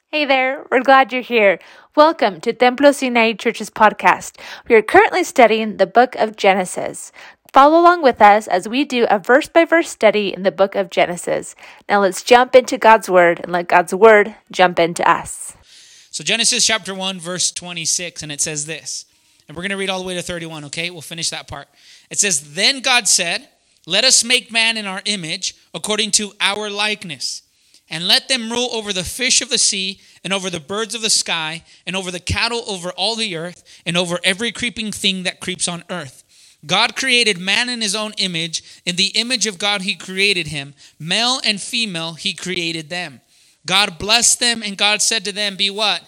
Hey there, we're glad you're here. Welcome to Templos United Church's podcast. We are currently studying the book of Genesis. Follow along with us as we do a verse by verse study in the book of Genesis. Now let's jump into God's word and let God's word jump into us. So Genesis chapter 1, verse 26, and it says this. And we're going to read all the way to 31, okay? We'll finish that part. It says, "Then God said, 'Let us make man in our image, according to our likeness. And let them rule over the fish of the sea, and over the birds of the sky, and over the cattle over all the earth, and over every creeping thing that creeps on earth.' God created man in his own image. In the image of God he created him. Male and female he created them. God blessed them, and God said to them, 'Be what?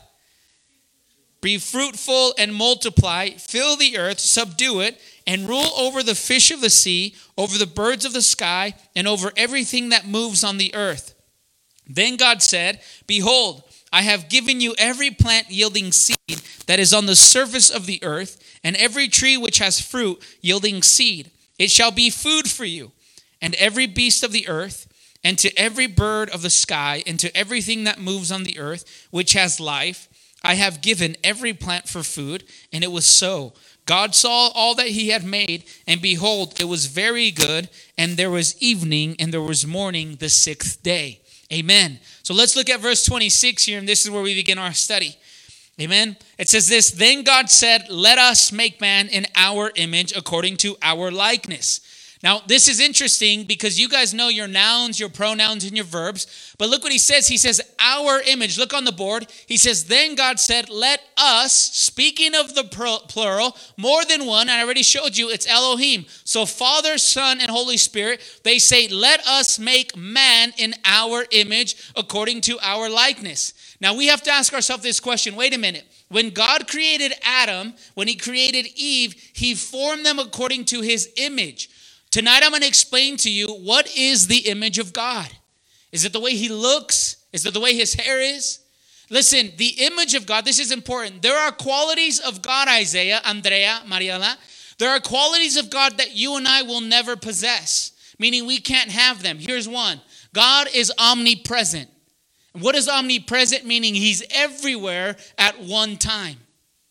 Be fruitful and multiply, fill the earth, subdue it, and rule over the fish of the sea, over the birds of the sky, and over everything that moves on the earth.' Then God said, 'Behold, I have given you every plant yielding seed that is on the surface of the earth, and every tree which has fruit yielding seed. It shall be food for you. And every beast of the earth, and to every bird of the sky, and to everything that moves on the earth, which has life, I have given every plant for food.' And it was so. God saw all that he had made, and behold, it was very good. And there was evening, and there was morning the sixth day." Amen. So let's look at verse 26 here, and this is where we begin our study. Amen. It says this, "Then God said, 'Let us make man in our image, according to our likeness.'" Now, this is interesting because you guys know your nouns, your pronouns, and your verbs. But look what he says. He says, our image. Look on the board. He says, "Then God said, 'Let us,'" speaking of the plural, more than one. I already showed you it's Elohim. So Father, Son, and Holy Spirit, they say, "Let us make man in our image according to our likeness." Now, we have to ask ourselves this question. Wait a minute. When God created Adam, when he created Eve, he formed them according to his image. Tonight I'm going to explain to you what is the image of God. Is it the way he looks? Is it the way his hair is? Listen, the image of God, this is important. There are qualities of God, Isaiah, Andrea, Mariela. There are qualities of God that you and I will never possess, meaning we can't have them. Here's one. God is omnipresent. What is omnipresent? Meaning he's everywhere at one time.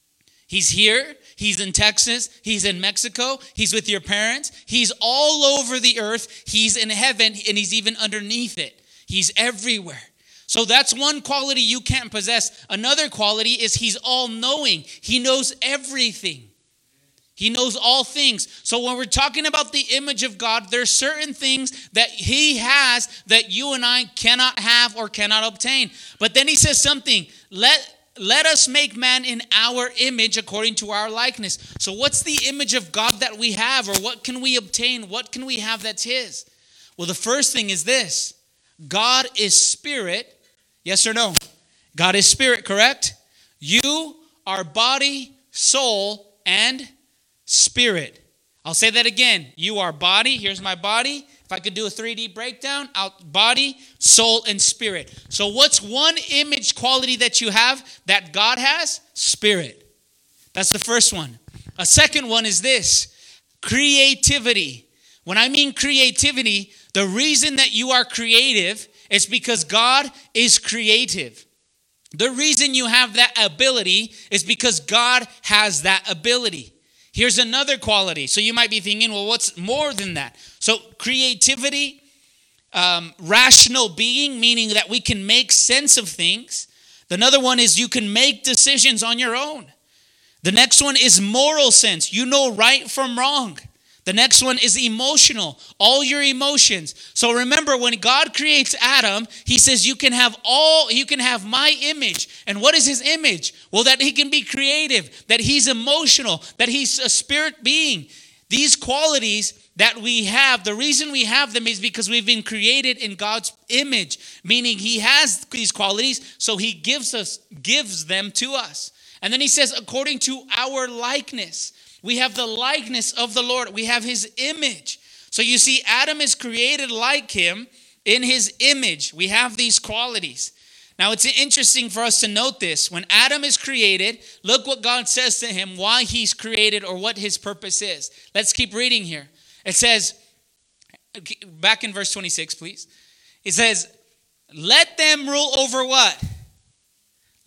He's here. He's in Texas. He's in Mexico. He's with your parents. He's all over the earth. He's in heaven, and he's even underneath it. He's everywhere. So that's one quality you can't possess. Another quality is he's all-knowing. He knows everything. He knows all things. So when we're talking about the image of God, there's certain things that he has that you and I cannot have or cannot obtain. But then he says something, let us make man in our image according to our likeness. So what's the image of God that we have, or what can we obtain? What can we have that's his? Well, the first thing is this. God is spirit. Yes or no? God is spirit, correct? You are body, soul, and spirit. I'll say that again. You are body. Here's my body. If I could do a 3D breakdown, body, soul, and spirit. So what's one image quality that you have that God has? Spirit. That's the first one. A second one is this, creativity. When I mean creativity, the reason that you are creative is because God is creative. The reason you have that ability is because God has that ability. Here's another quality. So you might be thinking, well, what's more than that? So creativity, rational being, meaning that we can make sense of things. Another one is you can make decisions on your own. The next one is moral sense. You know right from wrong. The next one is emotional, all your emotions. So remember, when God creates Adam, he says you can have my image. And what is his image? Well, that he can be creative, that he's emotional, that he's a spirit being. These qualities that we have, the reason we have them is because we've been created in God's image, meaning he has these qualities, so he gives them to us. And then he says, according to our likeness. We have the likeness of the Lord. We have his image. So you see, Adam is created like him in his image. We have these qualities. Now, it's interesting for us to note this. When Adam is created, look what God says to him, why he's created or what his purpose is. Let's keep reading here. It says, back in verse 26, please. It says, let them rule over what?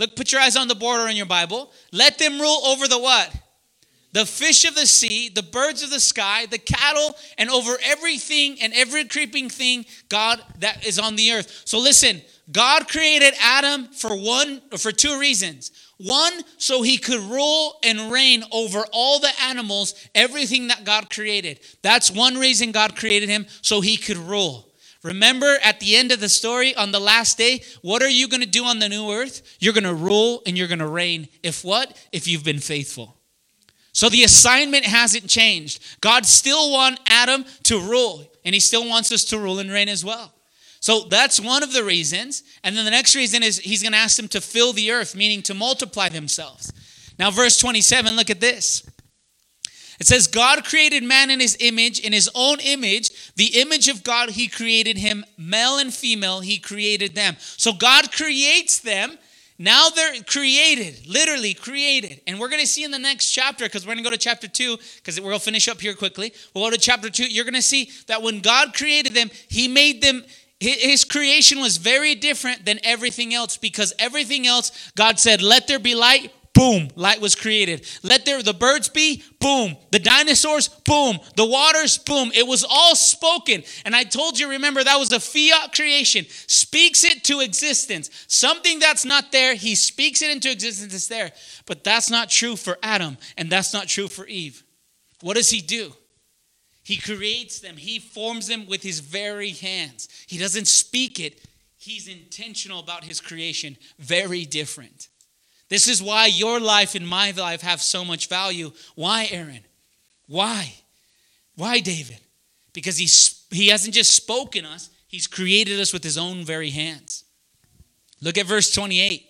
Look, put your eyes on the border in your Bible. Let them rule over the what? The fish of the sea, the birds of the sky, the cattle, and over everything and every creeping thing, God, that is on the earth. So listen, God created Adam for two reasons. One, so he could rule and reign over all the animals, everything that God created. That's one reason God created him, so he could rule. Remember at the end of the story, on the last day, what are you going to do on the new earth? You're going to rule and you're going to reign. If what? If you've been faithful. So the assignment hasn't changed. God still wants Adam to rule, and he still wants us to rule and reign as well. So that's one of the reasons. And then the next reason is he's going to ask them to fill the earth, meaning to multiply themselves. Now, verse 27, look at this. It says, God created man in his image, in his own image. The image of God, he created him. Male and female, he created them. So God creates them. Now they're created, literally created. And we're going to see in the next chapter, because we're going to go to chapter 2, because we'll finish up here quickly. We'll go to chapter 2. You're going to see that when God created them, he made them, his creation was very different than everything else, because everything else, God said, let there be light. Boom, light was created. Let the birds be, boom. The dinosaurs, boom. The waters, boom. It was all spoken. And I told you, remember, that was a fiat creation. Speaks it to existence. Something that's not there, he speaks it into existence, it's there. But that's not true for Adam, and that's not true for Eve. What does he do? He creates them. He forms them with his very hands. He doesn't speak it. He's intentional about his creation. Very different. This is why your life and my life have so much value. Why, Aaron? Why? Why, David? Because he hasn't just spoken us, he's created us with his own very hands. Look at verse 28.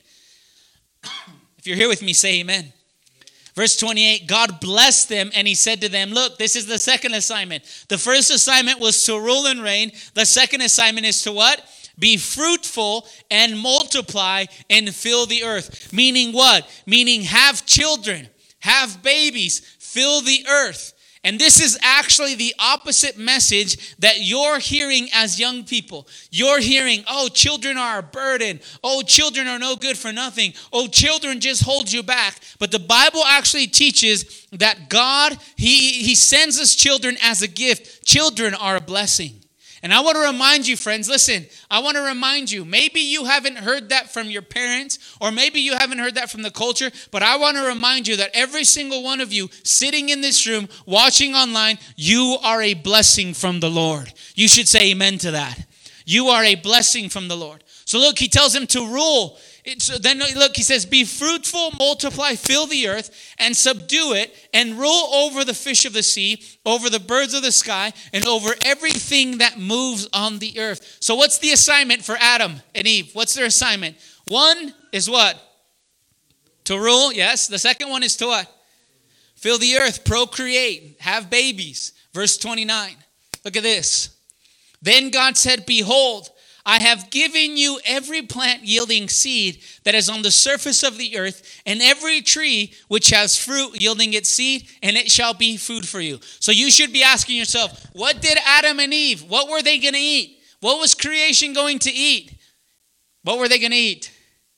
If you're here with me, say amen. Verse 28, God blessed them and he said to them, look, this is the second assignment. The first assignment was to rule and reign. The second assignment is to what? Be fruitful and multiply and fill the earth. Meaning what? Meaning have children, have babies, fill the earth. And this is actually the opposite message that you're hearing as young people. You're hearing, oh, children are a burden. Oh, children are no good for nothing. Oh, children just hold you back. But the Bible actually teaches that God, He sends us children as a gift. Children are a blessing. And I want to remind you, friends, listen, I want to remind you, maybe you haven't heard that from your parents, or maybe you haven't heard that from the culture, but I want to remind you that every single one of you sitting in this room, watching online, you are a blessing from the Lord. You should say amen to that. You are a blessing from the Lord. So look, he tells him to rule. Then look, he says, be fruitful, multiply, fill the earth, and subdue it, and rule over the fish of the sea, over the birds of the sky, and over everything that moves on the earth. So what's the assignment for Adam and Eve? What's their assignment? One is what? To rule, yes. The second one is to what? Fill the earth, procreate, have babies. Verse 29. Look at this. Then God said, behold, I have given you every plant yielding seed that is on the surface of the earth, and every tree which has fruit yielding its seed, and it shall be food for you. So you should be asking yourself, what did Adam and Eve, what were they going to eat? What was creation going to eat? What were they going to eat?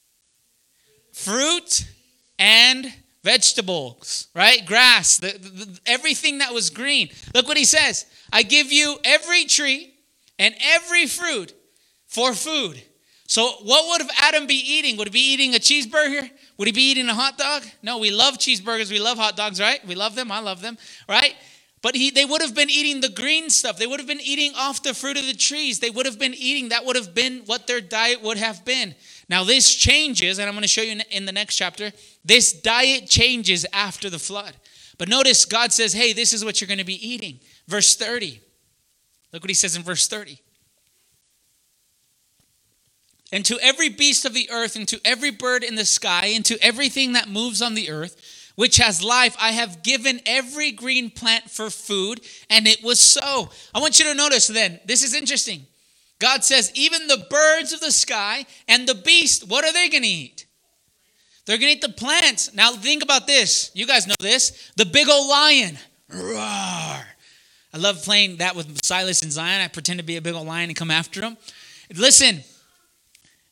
Fruit and vegetables, right? Grass, everything that was green. Look what he says. I give you every tree and every fruit for food. So what would Adam be eating? Would he be eating a cheeseburger? Would he be eating a hot dog? No, we love cheeseburgers. We love hot dogs, right? We love them. I love them, right? But they would have been eating the green stuff. They would have been eating off the fruit of the trees. They would have been eating. That would have been what their diet would have been. Now this changes, and I'm going to show you in the next chapter. This diet changes after the flood. But notice God says, hey, this is what you're going to be eating. Verse 30. Look what he says in verse 30. And to every beast of the earth, and to every bird in the sky, and to everything that moves on the earth, which has life, I have given every green plant for food, and it was so. I want you to notice then, this is interesting. God says, even the birds of the sky and the beast, what are they going to eat? They're going to eat the plants. Now think about this. You guys know this. The big old lion. Roar. I love playing that with Silas and Zion. I pretend to be a big old lion and come after them. Listen.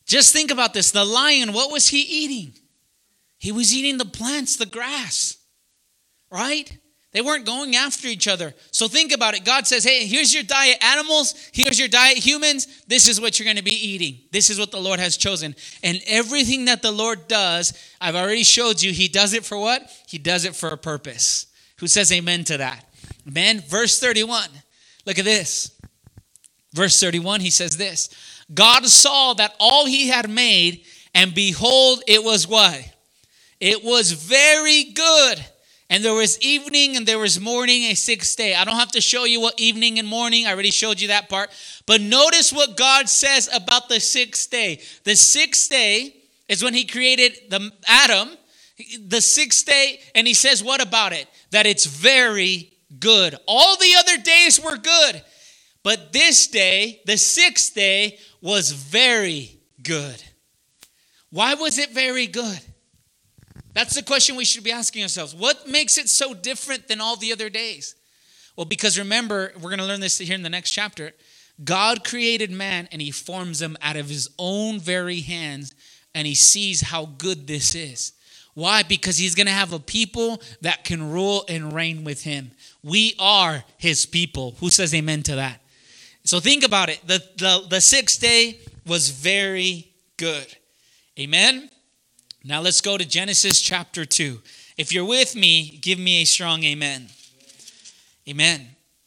Just think about this. The lion, what was he eating? He was eating the plants, the grass, right? They weren't going after each other. So think about it. God says, hey, here's your diet, animals. Here's your diet, humans. This is what you're going to be eating. This is what the Lord has chosen. And everything that the Lord does, I've already showed you, he does it for what? He does it for a purpose. Who says amen to that? Amen. Verse 31. Look at this. Verse 31, he says this. God saw that all he had made, and behold, it was what? It was very good. And there was evening and there was morning, a sixth day. I don't have to show you what evening and morning. I already showed you that part. But notice what God says about the sixth day. The sixth day is when he created Adam. The sixth day, and he says what about it? That it's very good. All the other days were good. But this day, the sixth day, was very good. Why was it very good? That's the question we should be asking ourselves. What makes it so different than all the other days? Well, because remember, we're going to learn this here in the next chapter. God created man and he forms him out of his own very hands, and he sees how good this is. Why? Because he's going to have a people that can rule and reign with him. We are his people. Who says amen to that? So think about it. The sixth day was very good. Amen? Now let's go to Genesis chapter 2. If you're with me, give me a strong amen. Amen.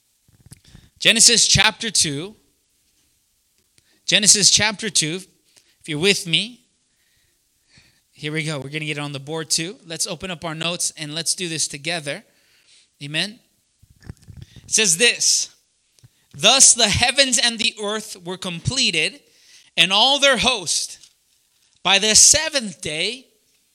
Genesis chapter 2. Genesis chapter 2. If you're with me, here we go. We're going to get it on the board too. Let's open up our notes and let's do this together. Amen. It says this. Thus the heavens and the earth were completed, and all their host. By the seventh day,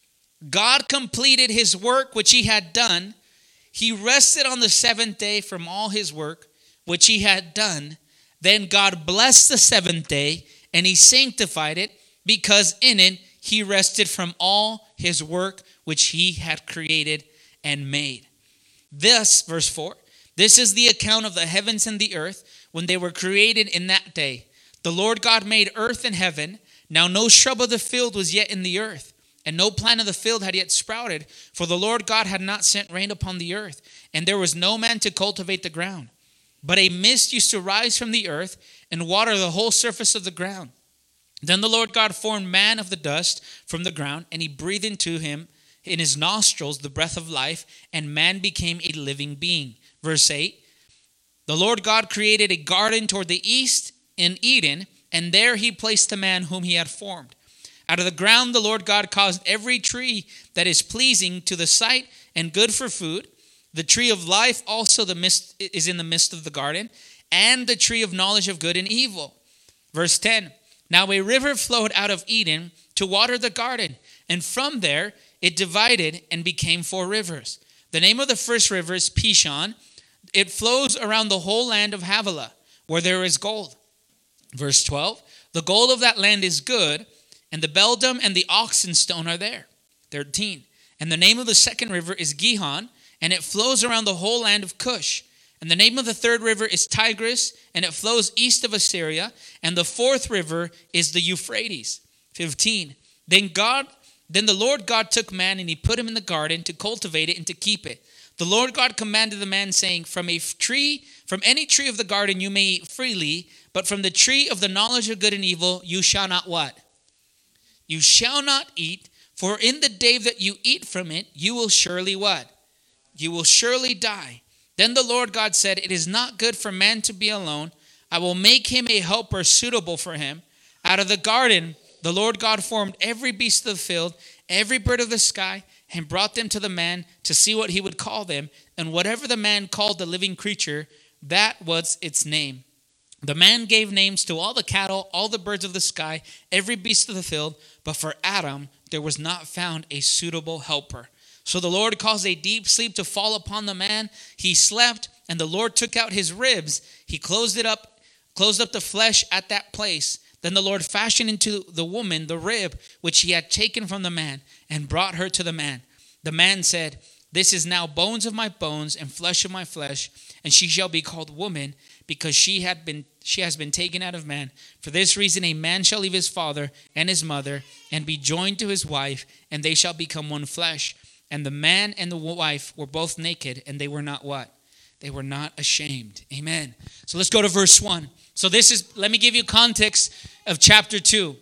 God completed his work which he had done. He rested on the seventh day from all his work which he had done. Then God blessed the seventh day, and he sanctified it, because in it he rested from all his work which he had created and made. This, verse 4, this is the account of the heavens and the earth when they were created in that day. The Lord God made earth and heaven. Now no shrub of the field was yet in the earth, and no plant of the field had yet sprouted, for the Lord God had not sent rain upon the earth, and there was no man to cultivate the ground. But a mist used to rise from the earth and water the whole surface of the ground. Then the Lord God formed man of the dust from the ground, and he breathed into him in his nostrils the breath of life, and man became a living being. Verse 8, the Lord God created a garden toward the east in Eden, and there he placed the man whom he had formed. Out of the ground the Lord God caused every tree that is pleasing to the sight and good for food. The tree of life also is in the midst of the garden, and the tree of knowledge of good and evil. Verse 10, now a river flowed out of Eden to water the garden, and from there it divided and became 4 rivers. The name of the first river is Pishon. It flows around the whole land of Havilah, where there is gold. Verse 12, the gold of that land is good, and the beldam and the oxen stone are there. 13, and the name of the second river is Gihon, and it flows around the whole land of Cush. And the name of the third river is Tigris, and it flows east of Assyria. And the fourth river is the Euphrates. 15, then the Lord God took man, and he put him in the garden to cultivate it and to keep it. The Lord God commanded the man, saying, from any tree of the garden you may eat freely, but from the tree of the knowledge of good and evil you shall not what? You shall not eat, for in the day that you eat from it, you will surely what? You will surely die. Then the Lord God said, it is not good for man to be alone. I will make him a helper suitable for him. Out of the garden, the Lord God formed every beast of the field, every bird of the sky, and brought them to the man to see what he would call them. And whatever the man called the living creature, that was its name. The man gave names to all the cattle, all the birds of the sky, every beast of the field. But for Adam, there was not found a suitable helper. So the Lord caused a deep sleep to fall upon the man. He slept, and the Lord took out his ribs. He closed up the flesh at that place. Then the Lord fashioned into the woman the rib which he had taken from the man, and brought her to the man. The man said, This is now bones of my bones and flesh of my flesh, and she shall be called woman, because she has been taken out of man. For this reason a man shall leave his father and his mother, and be joined to his wife, and they shall become one flesh. And the man and the wife were both naked, and they were not what? They were not ashamed. Amen. So let's go to verse 1. So let me give you context of chapter 2.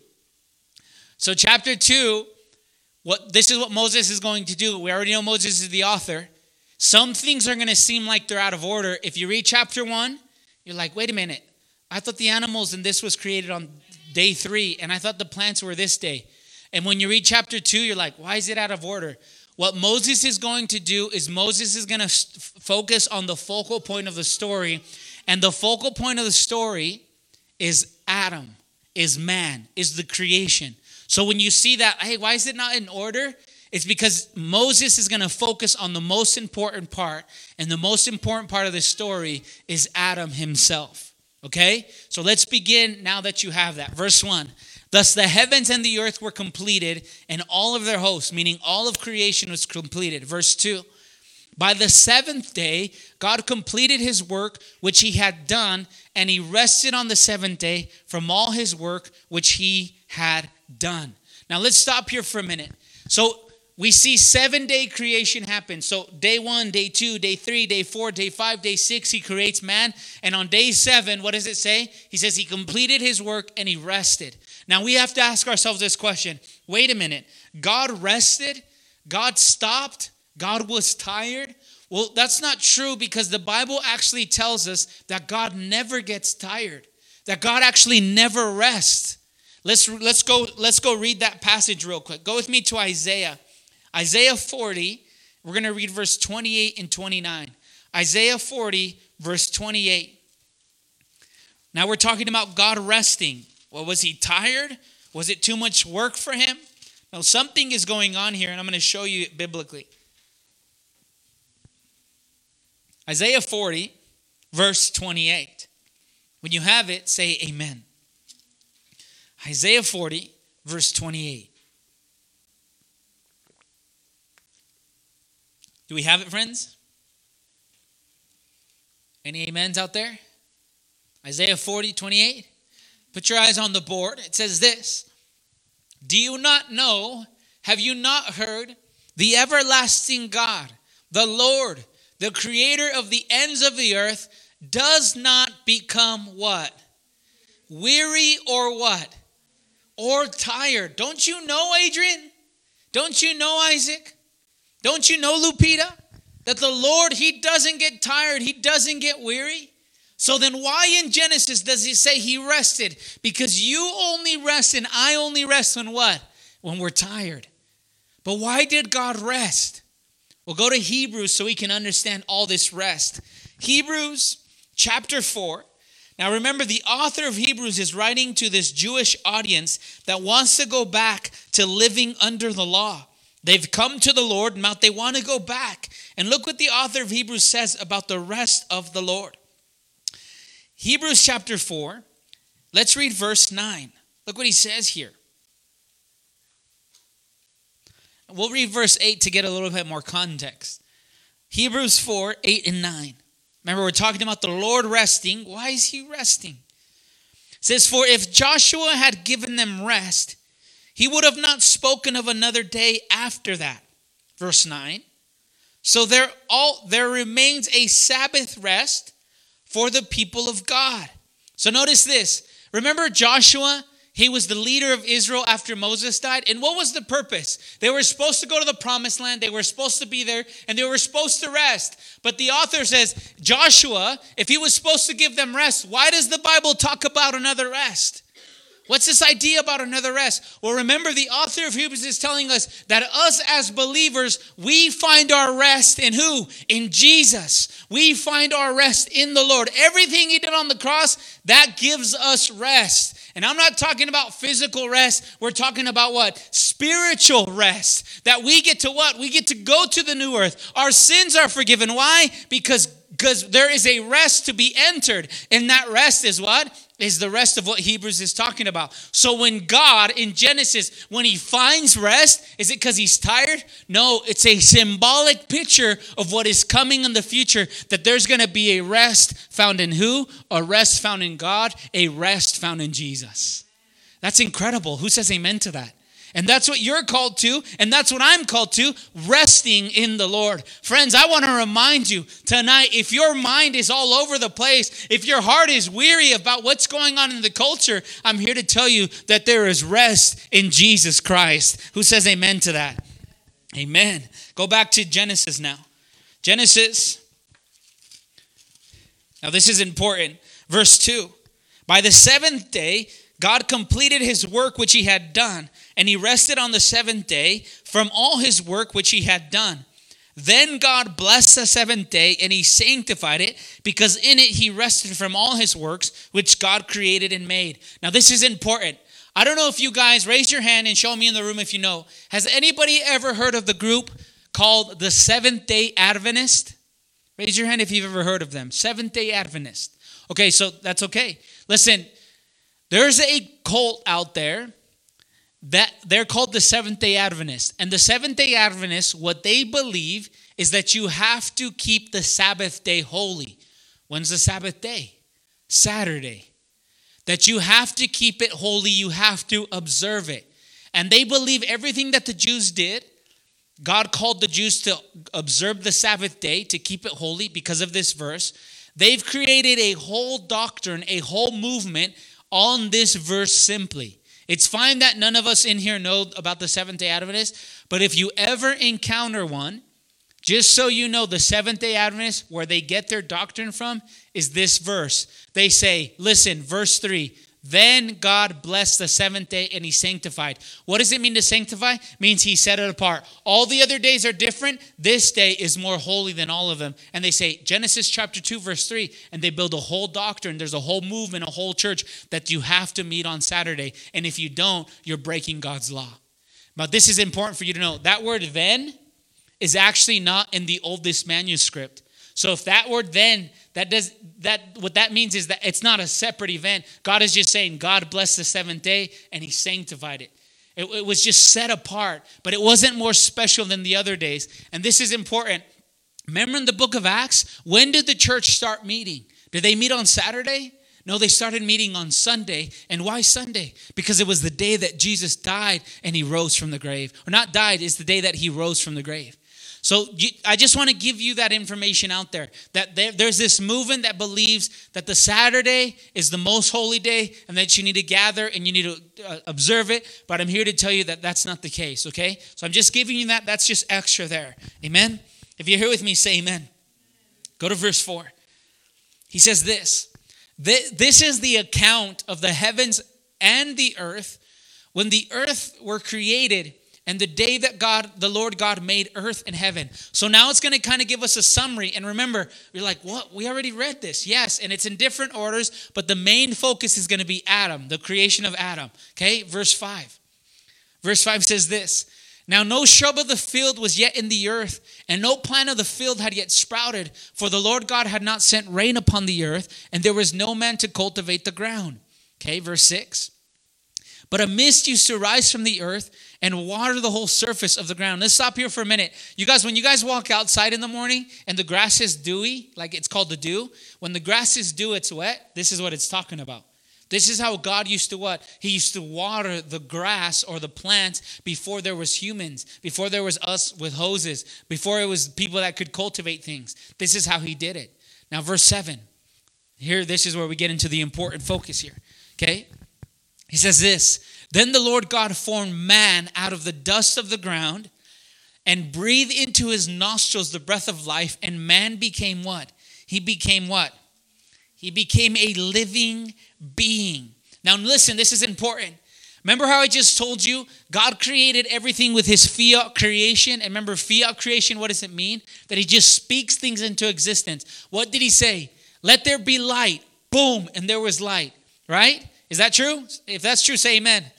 So chapter 2, this is what Moses is going to do. We already know Moses is the author. Some things are going to seem like they're out of order. If you read chapter 1, you're like, wait a minute. I thought the animals and this was created on day 3, and I thought the plants were this day. And when you read chapter 2, you're like, why is it out of order? What Moses is going to do is Moses is going to focus on the focal point of the story. And the focal point of the story is Adam, is man, is the creation. So when you see that, hey, why is it not in order? It's because Moses is going to focus on the most important part. And the most important part of the story is Adam himself. Okay? So let's begin now that you have that. Verse 1. Thus the heavens and the earth were completed, and all of their hosts, meaning all of creation was completed. Verse 2. By the seventh day, God completed his work which he had done, and he rested on the seventh day from all his work which he had done. Now let's stop here for a minute. So we see 7-day creation happen. So day 1, day 2, day 3, day 4, day 5, day 6, he creates man. And on day 7, what does it say? He says he completed his work and he rested. Now we have to ask ourselves this question. Wait a minute. God rested? God stopped? God was tired? Well, that's not true, because the Bible actually tells us that God never gets tired. That God actually never rests. Let's go read that passage real quick. Go with me to Isaiah. Isaiah 40, we're going to read verse 28 and 29. Isaiah 40, verse 28. Now we're talking about God resting. Well, was he tired? Was it too much work for him? No, something is going on here, and I'm going to show you it biblically. Isaiah 40, verse 28. When you have it, say amen. Isaiah 40, verse 28. Do we have it, friends? Any amens out there? Isaiah 40, 28. Put your eyes on the board. It says this. Do you not know, have you not heard, the everlasting God, the Lord, the creator of the ends of the earth, does not become what? Weary or what? Or tired. Don't you know, Adrian? Don't you know, Isaac? Don't you know, Lupita? That the Lord, he doesn't get tired. He doesn't get weary. So then why in Genesis does he say he rested? Because you only rest and I only rest when what? When we're tired. But why did God rest? We'll go to Hebrews so we can understand all this rest. Hebrews chapter 4. Now remember, the author of Hebrews is writing to this Jewish audience that wants to go back to living under the law. They've come to the Lord, and they want to go back. And look what the author of Hebrews says about the rest of the Lord. Hebrews chapter 4. Let's read verse 9. Look what he says here. We'll read verse 8 to get a little bit more context. Hebrews 4, 8 and 9. Remember, we're talking about the Lord resting. Why is he resting? It says, for if Joshua had given them rest, he would have not spoken of another day after that. Verse 9. So there remains a Sabbath rest for the people of God. So notice this. Remember Joshua? He was the leader of Israel after Moses died. And what was the purpose? They were supposed to go to the promised land. They were supposed to be there. And they were supposed to rest. But the author says, Joshua, if he was supposed to give them rest, why does the Bible talk about another rest? What's this idea about another rest? Well, remember, the author of Hebrews is telling us that us as believers, we find our rest in who? In Jesus. We find our rest in the Lord. Everything he did on the cross, that gives us rest. And I'm not talking about physical rest. We're talking about what? Spiritual rest. That we get to what? We get to go to the new earth. Our sins are forgiven. Why? Because because there is a rest to be entered. And that rest is what? Is the rest of what Hebrews is talking about. So when God in Genesis, when he finds rest, is it because he's tired? No, it's a symbolic picture of what is coming in the future, that there's going to be a rest found in who? A rest found in God, a rest found in Jesus. That's incredible. Who says amen to that? And that's what you're called to, and that's what I'm called to, resting in the Lord. Friends, I want to remind you tonight, if your mind is all over the place, if your heart is weary about what's going on in the culture, I'm here to tell you that there is rest in Jesus Christ. Who says amen to that? Amen. Go back to Genesis now. Genesis. Now this is important. Verse 2. By the seventh day, God completed his work which he had done, and he rested on the seventh day from all his work which he had done. Then God blessed the seventh day, and he sanctified it, because in it he rested from all his works which God created and made. Now this is important. I don't know if you guys, raise your hand and show me in the room if you know. Has anybody ever heard of the group called the Seventh-day Adventist? Raise your hand if you've ever heard of them. Seventh-day Adventist. Okay, so that's okay. Listen, there's a cult out there that they're called the Seventh-day Adventists. And the Seventh-day Adventists, what they believe is that you have to keep the Sabbath day holy. When's the Sabbath day? Saturday. That you have to keep it holy. You have to observe it. And they believe everything that the Jews did, God called the Jews to observe the Sabbath day, to keep it holy because of this verse. They've created a whole doctrine, a whole movement on this verse simply. It's fine that none of us in here know about the Seventh-day Adventists, but if you ever encounter one, just so you know, the Seventh-day Adventists, where they get their doctrine from, is this verse. They say, listen, verse 3, then God blessed the seventh day and he sanctified. What does it mean to sanctify? It means he set it apart. All the other days are different. This day is more holy than all of them. And they say, Genesis chapter 2, verse 3, and they build a whole doctrine. There's a whole movement, a whole church that you have to meet on Saturday. And if you don't, you're breaking God's law. But this is important for you to know. That word then is actually not in the oldest manuscript. So if that word then, what that means is that it's not a separate event. God is just saying God blessed the seventh day and he sanctified it. It was just set apart, but it wasn't more special than the other days. And this is important. Remember in the book of Acts, when did the church start meeting? Did they meet on Saturday? No, they started meeting on Sunday. And why Sunday? Because it was the day that Jesus died and he rose from the grave. Or not died, it's the day that he rose from the grave. So I just want to give you that information out there, that there's this movement that believes that the Saturday is the most holy day and that you need to gather and you need to observe it. But I'm here to tell you that that's not the case, okay? So I'm just giving you that. That's just extra there. Amen? If you're here with me, say amen. Go to verse 4. He says this. This is the account of the heavens and the earth when the earth were created, and the day that the Lord God made earth and heaven. So now it's going to kind of give us a summary. And remember, you're like, what? We already read this. Yes, and it's in different orders, but the main focus is going to be Adam, the creation of Adam. Okay, verse 5. Verse 5 says this. Now no shrub of the field was yet in the earth, and no plant of the field had yet sprouted, for the Lord God had not sent rain upon the earth, and there was no man to cultivate the ground. Okay, verse 6. But a mist used to rise from the earth and water the whole surface of the ground. Let's stop here for a minute. You guys, when you guys walk outside in the morning and the grass is dewy, like it's called the dew, when the grass is dew, it's wet. This is what it's talking about. This is how God used to what? He used to water the grass or the plants before there was humans, before there was us with hoses, before it was people that could cultivate things. This is how he did it. Now, verse 7. Here, this is where we get into the important focus here. Okay? He says this, then the Lord God formed man out of the dust of the ground and breathed into his nostrils the breath of life, and man became what? He became what? He became a living being. Now listen, this is important. Remember how I just told you God created everything with his fiat creation? And remember, fiat creation, what does it mean? That he just speaks things into existence. What did he say? Let there be light. Boom, and there was light, right? Is that true? If that's true, say amen.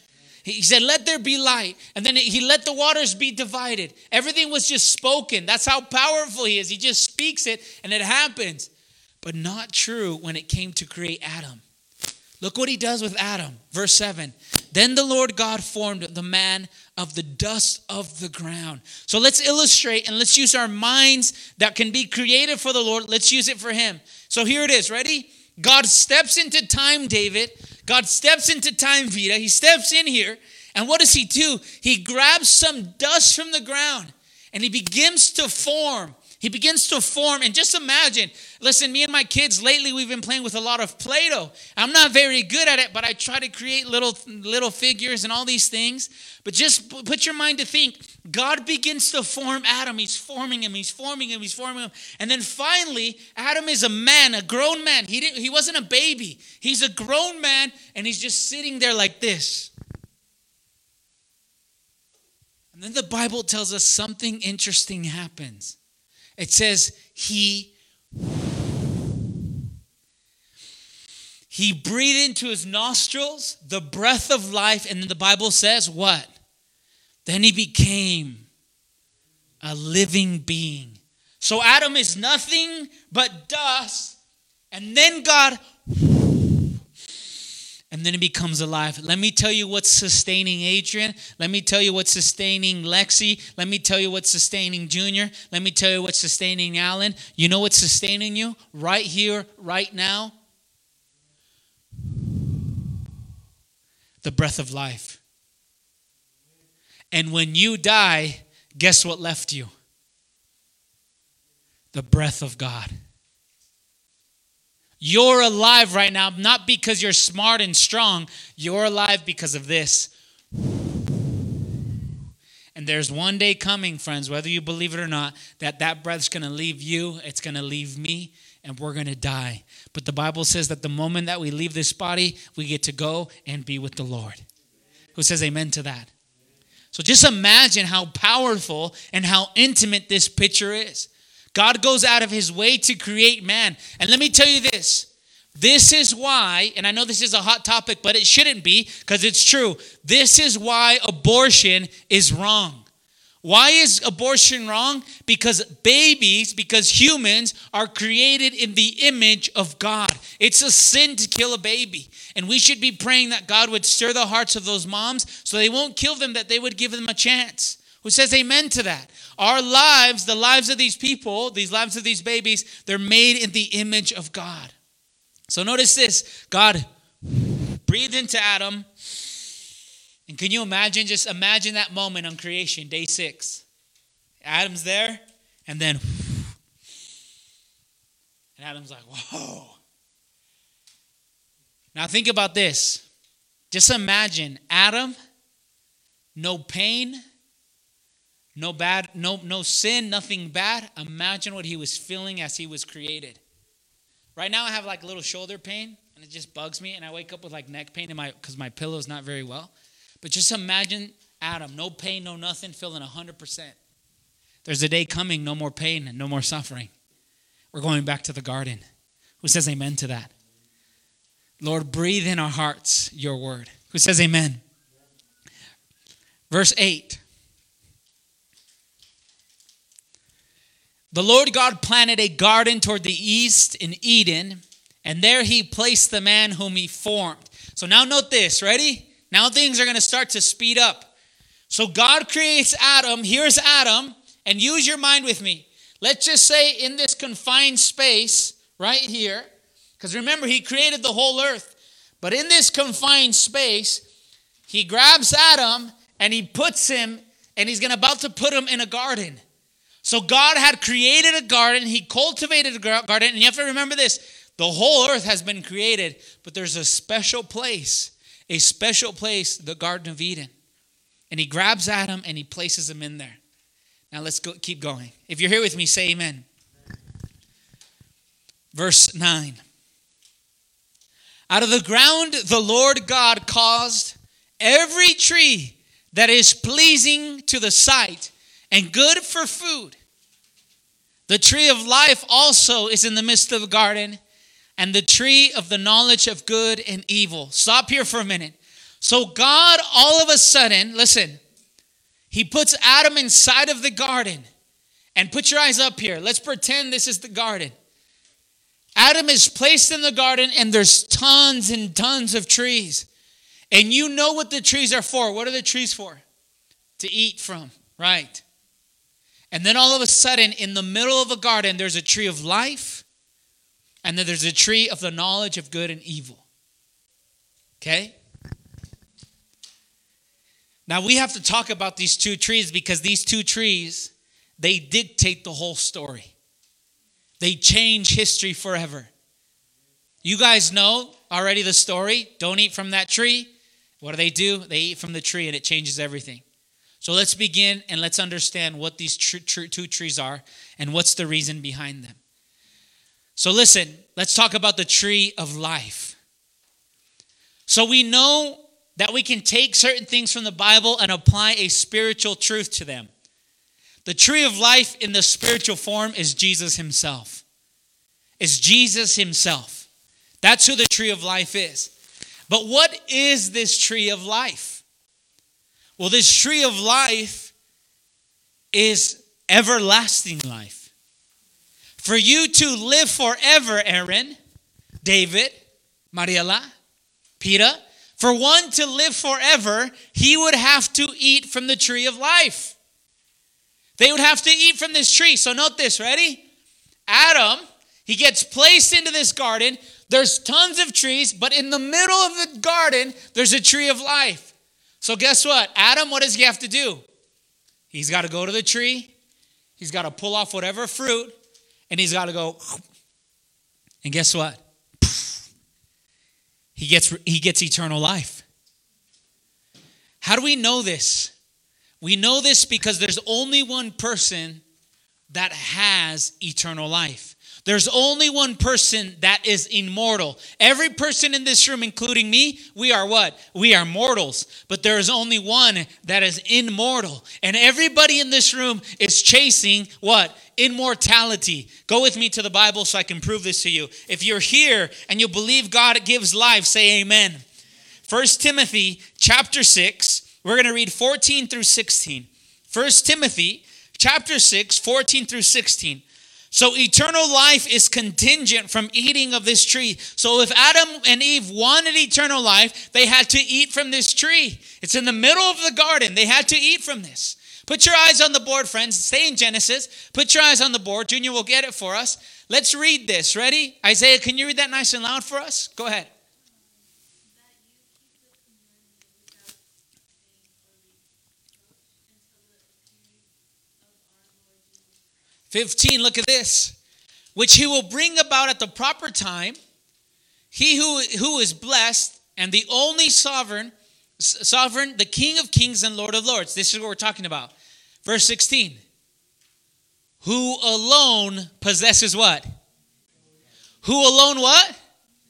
He said, let there be light. And then he let the waters be divided. Everything was just spoken. That's how powerful he is. He just speaks it and it happens. But not true when it came to create Adam. Look what he does with Adam. Verse 7. Then the Lord God formed the man of the dust of the ground. So let's illustrate and let's use our minds that can be creative for the Lord. Let's use it for him. So here it is. Ready? God steps into time, David. God steps into time, Vida. He steps in here. And what does he do? He grabs some dust from the ground and he begins to form. He begins to form. And just imagine, listen, me and my kids, lately we've been playing with a lot of Play-Doh. I'm not very good at it, but I try to create little figures and all these things. But just put your mind to think. God begins to form Adam. He's forming him. He's forming him. He's forming him. And then finally, Adam is a man, a grown man. He wasn't a baby. He's a grown man, and he's just sitting there like this. And then the Bible tells us something interesting happens. It says he breathed into his nostrils the breath of life. And then the Bible says what? Then he became a living being. So Adam is nothing but dust. And then God, and then he becomes alive. Let me tell you what's sustaining Adrian. Let me tell you what's sustaining Lexi. Let me tell you what's sustaining Junior. Let me tell you what's sustaining Alan. You know what's sustaining you right here, right now? The breath of life. And when you die, guess what left you? The breath of God. You're alive right now, not because you're smart and strong. You're alive because of this. And there's one day coming, friends, whether you believe it or not, that breath's going to leave you, it's going to leave me, and we're going to die. But the Bible says that the moment that we leave this body, we get to go and be with the Lord. Who says amen to that? So just imagine how powerful and how intimate this picture is. God goes out of his way to create man. And let me tell you this. This is why, and I know this is a hot topic, but it shouldn't be because it's true. This is why abortion is wrong. Why is abortion wrong? Because humans are created in the image of God. It's a sin to kill a baby. And we should be praying that God would stir the hearts of those moms so they won't kill them, that they would give them a chance. Who says amen to that? Our lives, the lives of these people, these lives of these babies, they're made in the image of God. So notice this. God breathed into Adam. And can you imagine, just imagine that moment on creation, day 6. Adam's there, and then, and Adam's like, whoa. Now think about this. Just imagine Adam, no pain, no bad, no sin, nothing bad. Imagine what he was feeling as he was created. Right now I have like a little shoulder pain and it just bugs me, and I wake up with like neck pain because my pillow's not very well. But just imagine Adam, no pain, no nothing, feeling 100%. There's a day coming, no more pain and no more suffering. We're going back to the garden. Who says amen to that? Lord, breathe in our hearts your word. Who says amen? Verse 8. The Lord God planted a garden toward the east in Eden, and there he placed the man whom he formed. So now note this, ready? Now things are going to start to speed up. So God creates Adam. Here's Adam, and use your mind with me. Let's just say in this confined space right here, because remember, he created the whole earth. But in this confined space, he grabs Adam and he puts him, and he's about to put him in a garden. So God had created a garden. He cultivated a garden. And you have to remember this. The whole earth has been created, but there's a special place, the Garden of Eden. And he grabs Adam and he places him in there. Now let's keep going. If you're here with me, say amen. Verse 9. Out of the ground the Lord God caused every tree that is pleasing to the sight and good for food. The tree of life also is in the midst of the garden, and the tree of the knowledge of good and evil. Stop here for a minute. So God, all of a sudden, listen, he puts Adam inside of the garden. And put your eyes up here. Let's pretend this is the garden. Adam is placed in the garden and there's tons and tons of trees. And you know what the trees are for. What are the trees for? To eat from, right? And then all of a sudden, in the middle of a garden, there's a tree of life. And then there's a tree of the knowledge of good and evil. Okay? Now we have to talk about these two trees because these two trees, they dictate the whole story. They change history forever. You guys know already the story. Don't eat from that tree. What do? They eat from the tree and it changes everything. So let's begin and let's understand what these two trees are and what's the reason behind them. So listen, let's talk about the tree of life. So we know that we can take certain things from the Bible and apply a spiritual truth to them. The tree of life in the spiritual form is Jesus himself. It's Jesus himself. That's who the tree of life is. But what is this tree of life? Well, this tree of life is everlasting life. For you to live forever, Aaron, David, Mariela, Peter, for one to live forever, he would have to eat from the tree of life. They would have to eat from this tree. So note this, ready? Adam, he gets placed into this garden. There's tons of trees, but in the middle of the garden, there's a tree of life. So guess what? Adam, what does he have to do? He's got to go to the tree. He's got to pull off whatever fruit, and he's got to go. And guess what? He gets eternal life. How do we know this? We know this because there's only one person that has eternal life. There's only one person that is immortal. Every person in this room, including me, we are what? We are mortals. But there is only one that is immortal. And everybody in this room is chasing what? Immortality. Go with me to the Bible so I can prove this to you. If you're here and you believe God gives life, say amen. 1 Timothy chapter 6. We're going to read 14 through 16. 1 Timothy chapter 6, 14 through 16. So eternal life is contingent from eating of this tree. So if Adam and Eve wanted eternal life, they had to eat from this tree. It's in the middle of the garden. They had to eat from this. Put your eyes on the board, friends. Stay in Genesis. Put your eyes on the board. Junior will get it for us. Let's read this. Ready? Isaiah, can you read that nice and loud for us? Go ahead. 15, look at this. Which he will bring about at the proper time. He who is blessed and the only sovereign, the King of kings and Lord of lords. This is what we're talking about. Verse 16. Who alone possesses what? Who alone what?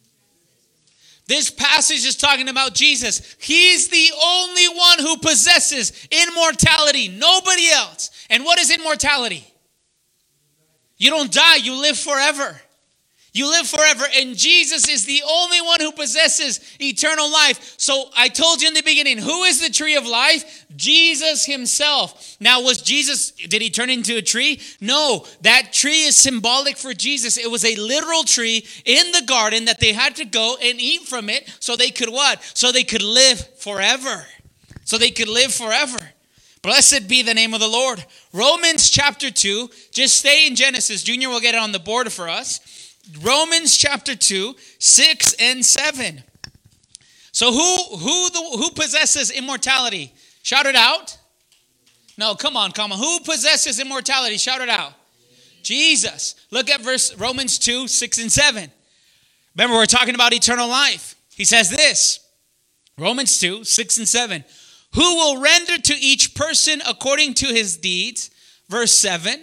This passage is talking about Jesus. He's the only one who possesses immortality. Nobody else. And what is immortality? You don't die, you live forever. You live forever, and Jesus is the only one who possesses eternal life. So I told you in the beginning, who is the tree of life? Jesus himself. Now, did he turn into a tree? No, that tree is symbolic for Jesus. It was a literal tree in the garden that they had to go and eat from it so they could what? So they could live forever. So they could live forever. Blessed be the name of the Lord. Romans chapter 2. Just stay in Genesis. Junior will get it on the board for us. Romans chapter 2, 6 and 7. So who possesses immortality? Shout it out. No, come on. Who possesses immortality? Shout it out. Jesus. Look at Romans 2, 6 and 7. Remember, we're talking about eternal life. He says this. Romans 2, 6 and 7. Who will render to each person according to his deeds. Verse 7.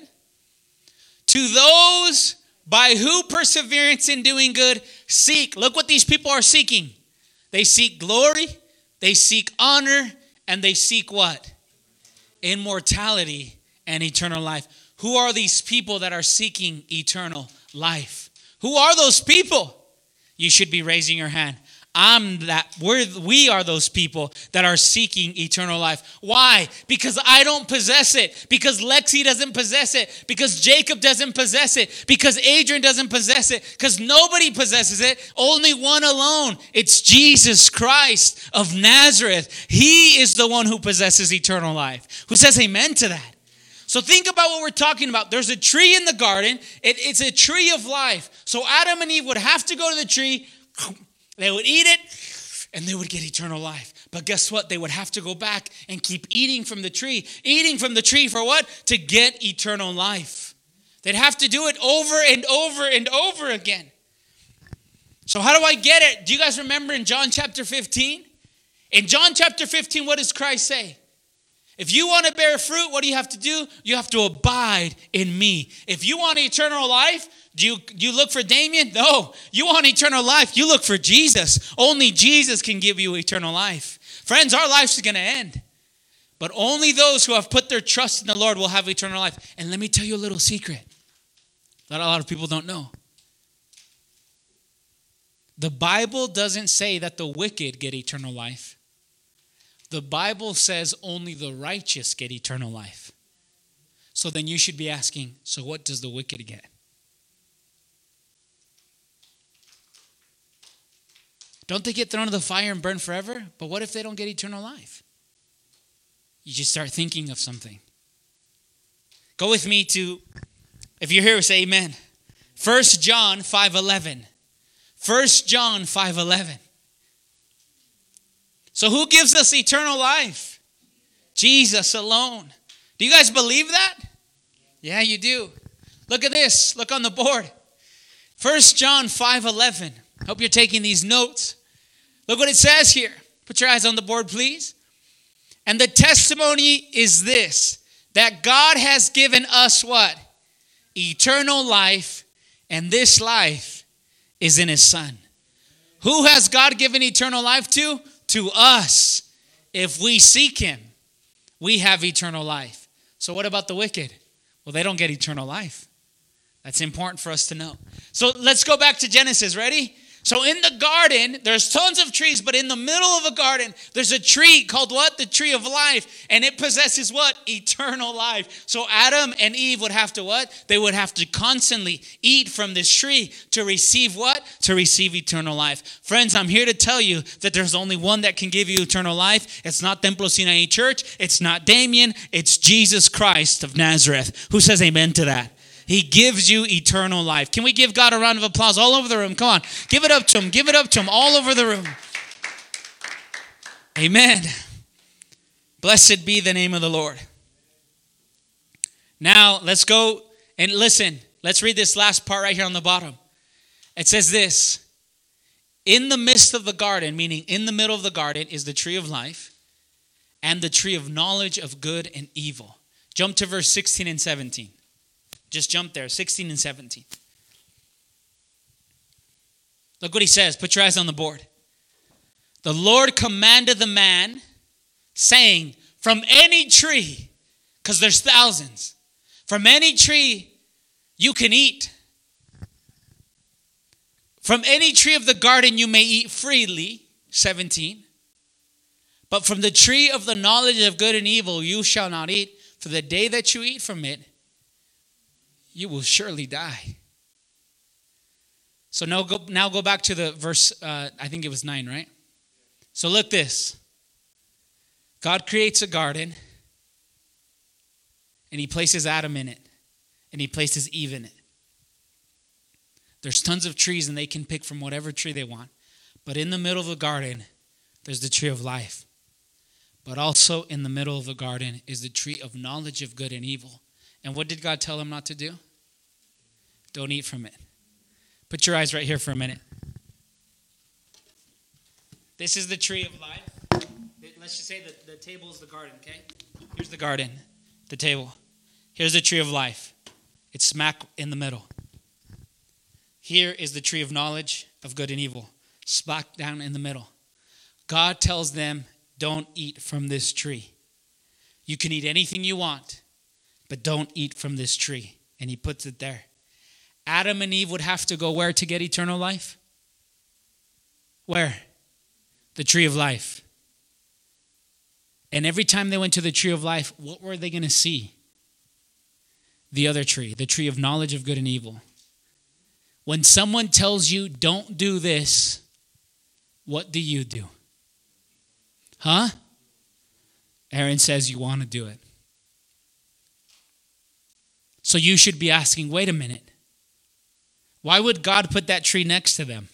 To those by who perseverance in doing good seek. Look what these people are seeking. They seek glory, they seek honor, and they seek what? Immortality and eternal life. Who are these people that are seeking eternal life? Who are those people? You should be raising your hand. we are those people that are seeking eternal life. Why? Because I don't possess it. Because Lexi doesn't possess it. Because Jacob doesn't possess it. Because Adrian doesn't possess it. Because nobody possesses it. Only one alone. It's Jesus Christ of Nazareth. He is the one who possesses eternal life. Who says amen to that? So think about what we're talking about. There's a tree in the garden. It's a tree of life. So Adam and Eve would have to go to the tree. They would eat it, and they would get eternal life. But guess what? They would have to go back and keep eating from the tree. Eating from the tree for what? To get eternal life. They'd have to do it over and over and over again. So how do I get it? Do you guys remember in John chapter 15? In John chapter 15, what does Christ say? If you want to bear fruit, what do you have to do? You have to abide in me. If you want eternal life, do you look for Damien? No. You want eternal life, you look for Jesus. Only Jesus can give you eternal life. Friends, our life's going to end. But only those who have put their trust in the Lord will have eternal life. And let me tell you a little secret that a lot of people don't know. The Bible doesn't say that the wicked get eternal life. The Bible says only the righteous get eternal life. So then you should be asking, so what does the wicked get? Don't they get thrown into the fire and burn forever? But what if they don't get eternal life? You just start thinking of something. Go with me to, if you're here, say amen. 1 John 5:11. 1 John 5:11. So who gives us eternal life? Jesus alone. Do you guys believe that? Yeah, you do. Look at this. Look on the board. 1 John 5:11. Hope you're taking these notes. Look what it says here. Put your eyes on the board, please. And the testimony is this, that God has given us what? Eternal life, and this life is in his Son. Who has God given eternal life to? To us. If we seek him, we have eternal life. So what about the wicked? Well, they don't get eternal life. That's important for us to know. So let's go back to Genesis. Ready? So in the garden, there's tons of trees, but in the middle of a garden, there's a tree called what? The tree of life. And it possesses what? Eternal life. So Adam and Eve would have to what? They would have to constantly eat from this tree to receive what? To receive eternal life. Friends, I'm here to tell you that there's only one that can give you eternal life. It's not Templo Sinai Church. It's not Damien. It's Jesus Christ of Nazareth. Who says amen to that? He gives you eternal life. Can we give God a round of applause all over the room? Come on. Give it up to him. Give it up to him all over the room. Amen. Blessed be the name of the Lord. Now, let's go and listen. Let's read this last part right here on the bottom. It says this. In the midst of the garden, meaning in the middle of the garden, is the tree of life and the tree of knowledge of good and evil. Jump to verse 16 and 17. Just jump there, 16 and 17. Look what he says. Put your eyes on the board. The Lord commanded the man, saying, from any tree, because there's thousands, from any tree you can eat. From any tree of the garden you may eat freely, 17. But from the tree of the knowledge of good and evil you shall not eat, for the day that you eat from it, you will surely die. So now go back to the verse, I think it was 9, right? So look this. God creates a garden, and he places Adam in it, and he places Eve in it. There's tons of trees, and they can pick from whatever tree they want. But in the middle of the garden, there's the tree of life. But also in the middle of the garden is the tree of knowledge of good and evil. And what did God tell him not to do? Don't eat from it. Put your eyes right here for a minute. This is the tree of life. Let's just say that the table is the garden, okay? Here's the garden, the table. Here's the tree of life. It's smack in the middle. Here is the tree of knowledge of good and evil. Smack down in the middle. God tells them, don't eat from this tree. You can eat anything you want, but don't eat from this tree. And he puts it there. Adam and Eve would have to go where to get eternal life? Where? The tree of life. And every time they went to the tree of life, what were they going to see? The other tree, the tree of knowledge of good and evil. When someone tells you, don't do this, what do you do? Huh? Aaron says you want to do it. So you should be asking, wait a minute. Why would God put that tree next to them?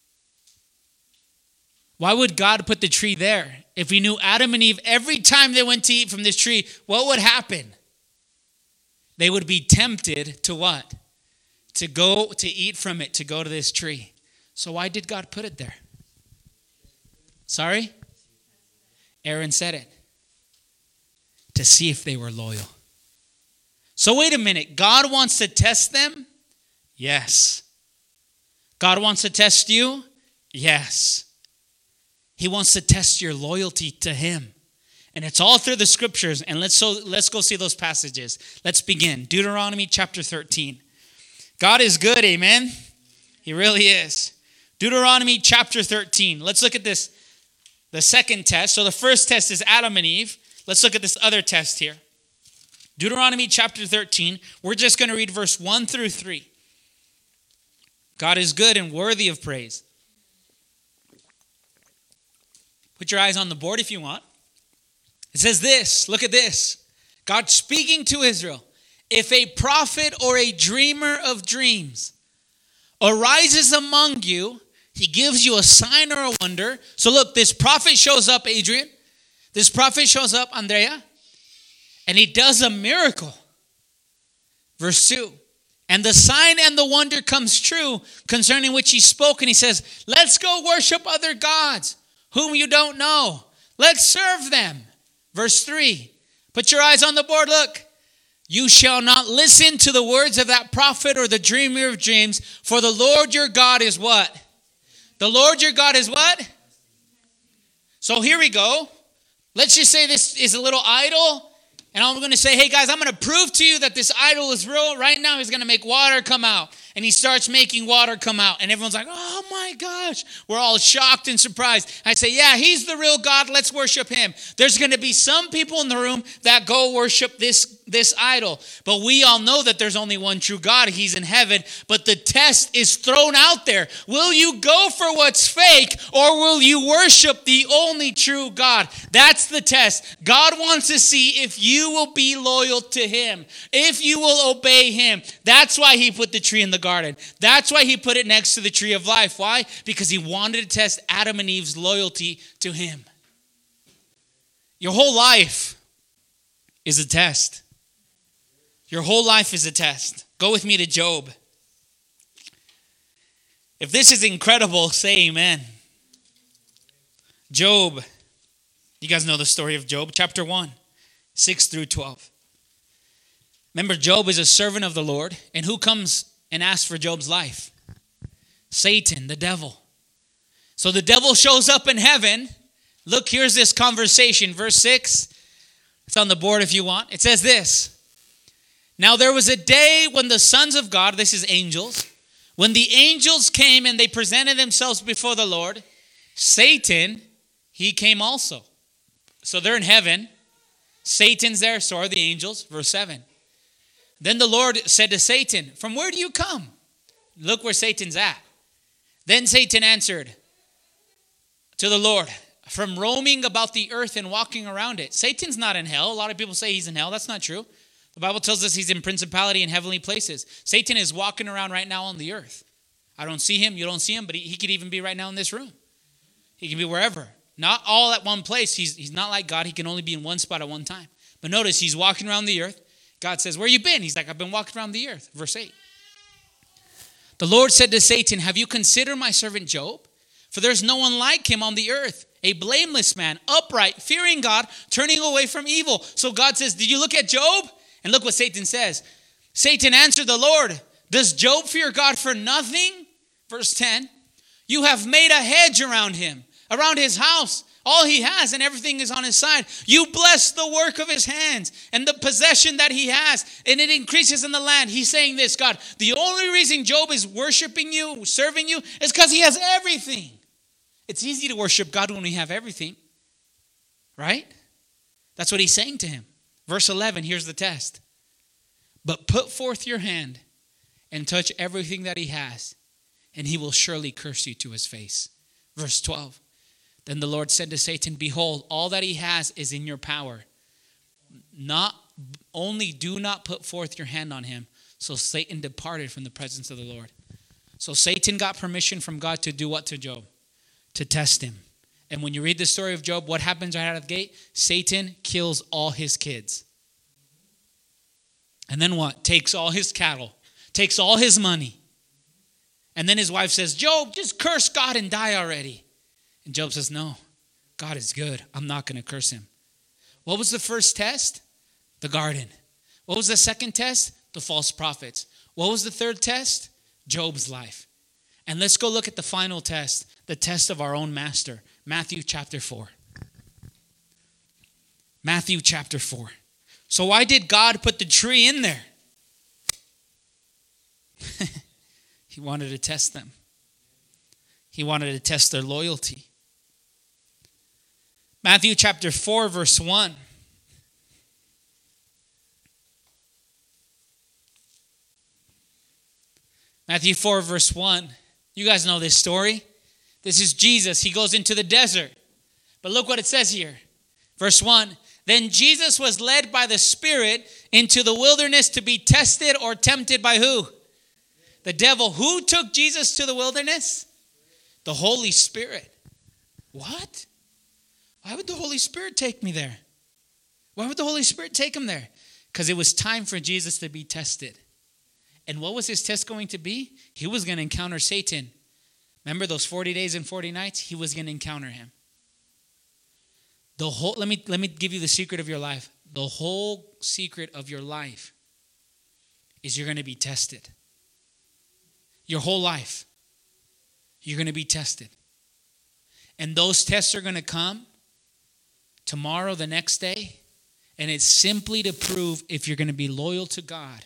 Why would God put the tree there? If we knew Adam and Eve, every time they went to eat from this tree, what would happen? They would be tempted to what? To go to eat from it, to go to this tree. So why did God put it there? Sorry? Aaron said it. To see if they were loyal. So wait a minute. God wants to test them? Yes. God wants to test you? Yes. He wants to test your loyalty to him. And it's all through the scriptures. And let's go see those passages. Let's begin. Deuteronomy chapter 13. God is good, amen? He really is. Deuteronomy chapter 13. Let's look at this. The second test. So the first test is Adam and Eve. Let's look at this other test here. Deuteronomy chapter 13. We're just going to read verse 1 through 3. God is good and worthy of praise. Put your eyes on the board if you want. It says this. Look at this. God speaking to Israel. If a prophet or a dreamer of dreams arises among you, he gives you a sign or a wonder. So look, this prophet shows up, Adrian. This prophet shows up, Andrea. And he does a miracle. Verse 2. And the sign and the wonder comes true concerning which he spoke. And he says, let's go worship other gods whom you don't know. Let's serve them. Verse 3. Put your eyes on the board. Look. You shall not listen to the words of that prophet or the dreamer of dreams, for the Lord your God is what? The Lord your God is what? So here we go. Let's just say this is a little idol. And I'm going to say, hey guys, I'm going to prove to you that this idol is real. Right now he's going to make water come out. And he starts making water come out. And everyone's like, oh my gosh. We're all shocked and surprised. I say, yeah, he's the real God. Let's worship him. There's going to be some people in the room that go worship this idol. But we all know that there's only one true God. He's in heaven. But the test is thrown out there. Will you go for what's fake, or will you worship the only true God? That's the test. God wants to see if you will be loyal to him, if you will obey him. That's why he put the tree in the garden. That's why he put it next to the tree of life. Why? Because he wanted to test Adam and Eve's loyalty to him. Your whole life is a test. Your whole life is a test. Go with me to Job. If this is incredible, say amen. Job. You guys know the story of Job. Chapter 1, 6 through 12. Remember, Job is a servant of the Lord. And who comes and asks for Job's life? Satan, the devil. So the devil shows up in heaven. Look, here's this conversation. Verse 6. It's on the board if you want. It says this. Now there was a day when the sons of God, this is angels, when the angels came and they presented themselves before the Lord, Satan, he came also. So they're in heaven. Satan's there, so are the angels. Verse 7. Then the Lord said to Satan, from where do you come? Look where Satan's at. Then Satan answered to the Lord, from roaming about the earth and walking around it. Satan's not in hell. A lot of people say he's in hell. That's not true. The Bible tells us he's in principality in heavenly places. Satan is walking around right now on the earth. I don't see him. You don't see him. But he could even be right now in this room. He can be wherever. Not all at one place. He's not like God. He can only be in one spot at one time. But notice he's walking around the earth. God says, where you been? He's like, I've been walking around the earth. Verse 8. The Lord said to Satan, have you considered my servant Job? For there's no one like him on the earth. A blameless man, upright, fearing God, turning away from evil. So God says, did you look at Job? And look what Satan says. Satan answered the Lord, does Job fear God for nothing? Verse 10. You have made a hedge around him, around his house. All he has and everything is on his side. You bless the work of his hands and the possession that he has, and it increases in the land. He's saying this, God, the only reason Job is worshiping you, serving you, is because he has everything. It's easy to worship God when we have everything, right? That's what he's saying to him. Verse 11, here's the test. But put forth your hand and touch everything that he has, and he will surely curse you to his face. Verse 12, then the Lord said to Satan, behold, all that he has is in your power. Not only do not put forth your hand on him. So Satan departed from the presence of the Lord. So Satan got permission from God to do what to Job? To test him. And when you read the story of Job, what happens right out of the gate? Satan kills all his kids. And then what? Takes all his cattle. Takes all his money. And then his wife says, Job, just curse God and die already. And Job says, no, God is good. I'm not going to curse him. What was the first test? The garden. What was the second test? The false prophets. What was the third test? Job's life. And let's go look at the final test, the test of our own master. Matthew chapter 4. Matthew chapter 4. So why did God put the tree in there? He wanted to test them. He wanted to test their loyalty. Matthew chapter 4, verse 1. Matthew 4, verse 1. You guys know this story. This is Jesus. He goes into the desert. But look what it says here. Verse 1. Then Jesus was led by the Spirit into the wilderness to be tested or tempted by who? The devil. Who took Jesus to the wilderness? The Holy Spirit. What? Why would the Holy Spirit take me there? Why would the Holy Spirit take him there? Because it was time for Jesus to be tested. And what was his test going to be? He was going to encounter Satan. Remember those 40 days and 40 nights? He was going to encounter him. Let me give you the secret of your life. The whole secret of your life is you're going to be tested. Your whole life. You're going to be tested. And those tests are going to come tomorrow, the next day. And it's simply to prove if you're going to be loyal to God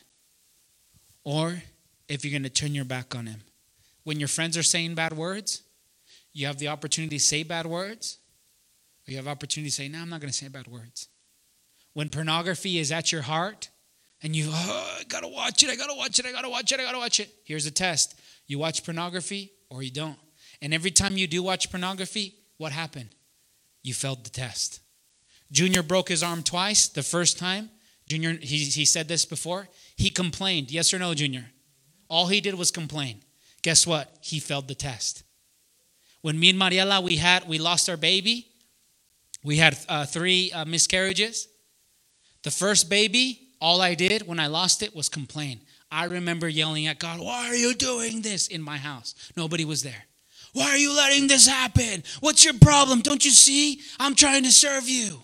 or if you're going to turn your back on him. When your friends are saying bad words, you have the opportunity to say bad words. Or you have opportunity to say, no, I'm not going to say bad words. When pornography is at your heart and I got to watch it, I got to watch it, I got to watch it, I got to watch it. Here's a test. You watch pornography or you don't. And every time you do watch pornography, what happened? You failed the test. Junior broke his arm twice. The first time, Junior, he said this before, he complained. Yes or no, Junior? All he did was complain. Guess what? He failed the test. When me and Mariela, we lost our baby. We had 3 miscarriages. The first baby, all I did when I lost it was complain. I remember yelling at God, why are you doing this in my house? Nobody was there. Why are you letting this happen? What's your problem? Don't you see? I'm trying to serve you.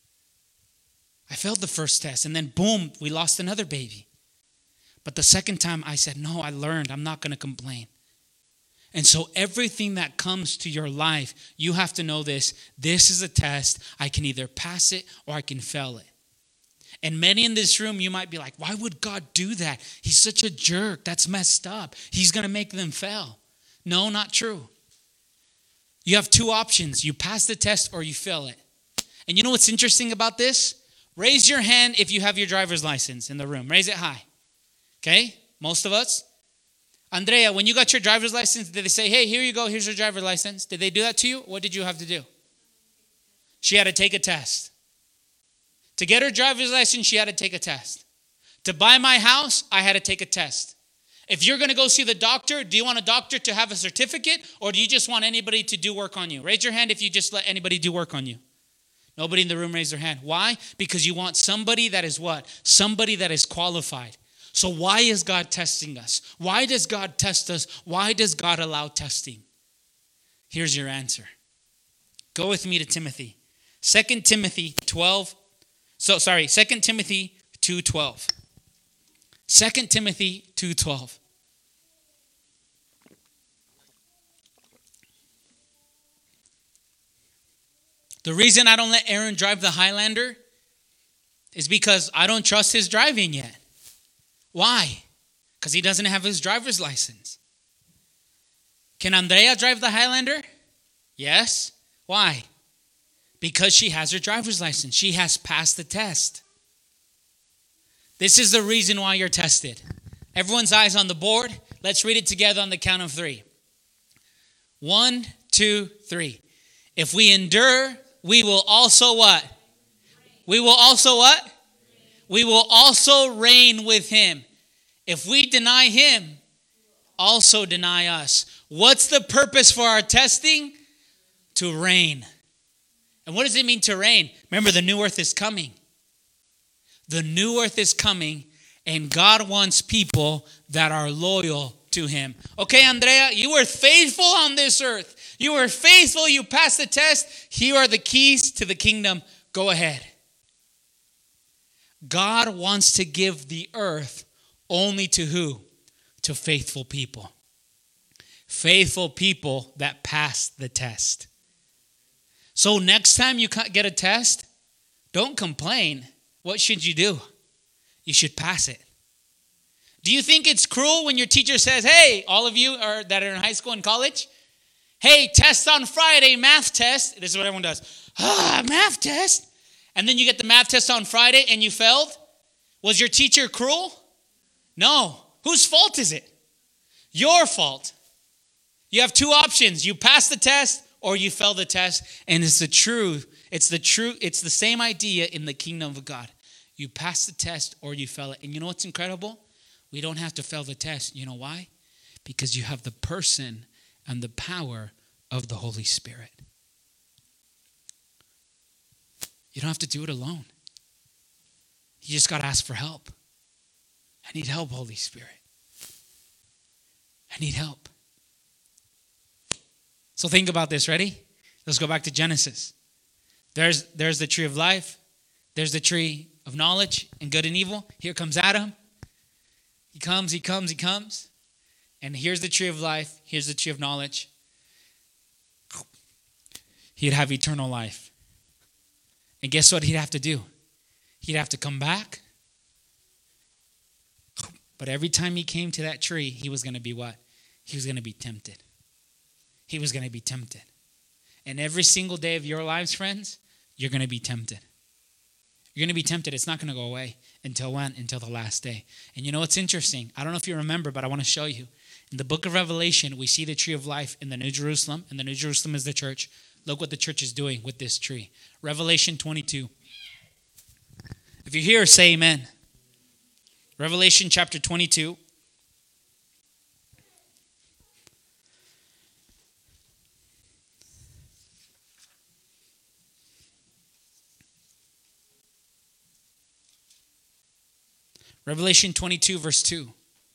I failed the first test and then boom, we lost another baby. But the second time I said, no, I learned. I'm not going to complain. And so everything that comes to your life, you have to know this. This is a test. I can either pass it or I can fail it. And many in this room, you might be like, why would God do that? He's such a jerk. That's messed up. He's going to make them fail. No, not true. You have 2 options. You pass the test or you fail it. And you know what's interesting about this? Raise your hand if you have your driver's license in the room. Raise it high. Okay? Most of us. Andrea, when you got your driver's license, did they say, hey, here you go, here's your driver's license? Did they do that to you? What did you have to do? She had to take a test. To get her driver's license, she had to take a test. To buy my house, I had to take a test. If you're going to go see the doctor, do you want a doctor to have a certificate or do you just want anybody to do work on you? Raise your hand if you just let anybody do work on you. Nobody in the room raised their hand. Why? Because you want somebody that is what? Somebody that is qualified. So why is God testing us? Why does God test us? Why does God allow testing? Here's your answer. Go with me to Timothy. 2 Timothy 2:12. 2 Timothy 2:12. The reason I don't let Aaron drive the Highlander is because I don't trust his driving yet. Why? Because he doesn't have his driver's license. Can Andrea drive the Highlander? Yes. Why? Because she has her driver's license. She has passed the test. This is the reason why you're tested. Everyone's eyes on the board. Let's read it together on the count of 3. 1, 2, 3. If we endure, we will also what? We will also what? We will also reign with him. If we deny him, also deny us. What's the purpose for our testing? To reign. And what does it mean to reign? Remember, the new earth is coming. The new earth is coming, and God wants people that are loyal to him. Okay, Andrea, you were faithful on this earth. You were faithful. You passed the test. Here are the keys to the kingdom. Go ahead. God wants to give the earth only to who? To faithful people. Faithful people that pass the test. So next time you get a test, don't complain. What should you do? You should pass it. Do you think it's cruel when your teacher says, hey, all of you that are in high school and college, hey, test on Friday, math test. This is what everyone does. Math test. And then you get the math test on Friday and you failed. Was your teacher cruel? No. Whose fault is it? Your fault. You have 2 options. You pass the test or you fail the test. And it's the truth. It's the same idea in the kingdom of God. You pass the test or you fail it. And you know what's incredible? We don't have to fail the test. You know why? Because you have the person and the power of the Holy Spirit. You don't have to do it alone. You just got to ask for help. I need help, Holy Spirit. I need help. So think about this. Ready? Let's go back to Genesis. There's the tree of life. There's the tree of knowledge and good and evil. Here comes Adam. He comes. And here's the tree of life. Here's the tree of knowledge. He'd have eternal life. And guess what he'd have to do? He'd have to come back. But every time he came to that tree, he was going to be what? He was going to be tempted. He was going to be tempted. And every single day of your lives, friends, you're going to be tempted. You're going to be tempted. It's not going to go away. Until when? Until the last day. And you know what's interesting? I don't know if you remember, but I want to show you. In the book of Revelation, we see the tree of life in the New Jerusalem. And the New Jerusalem is the church. Look what the church is doing with this tree. Revelation 22. If you're here, say amen. Revelation chapter 22. Revelation 22, verse 2.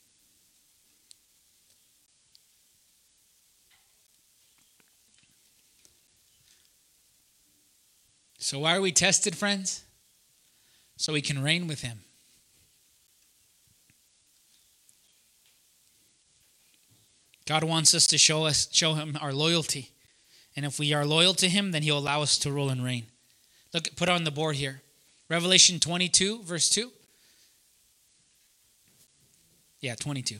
So why are we tested, friends? So we can reign with him. God wants us to show him our loyalty. And if we are loyal to him, then he'll allow us to rule and reign. Look, put it on the board here. Revelation 22, verse 2. Yeah, 22.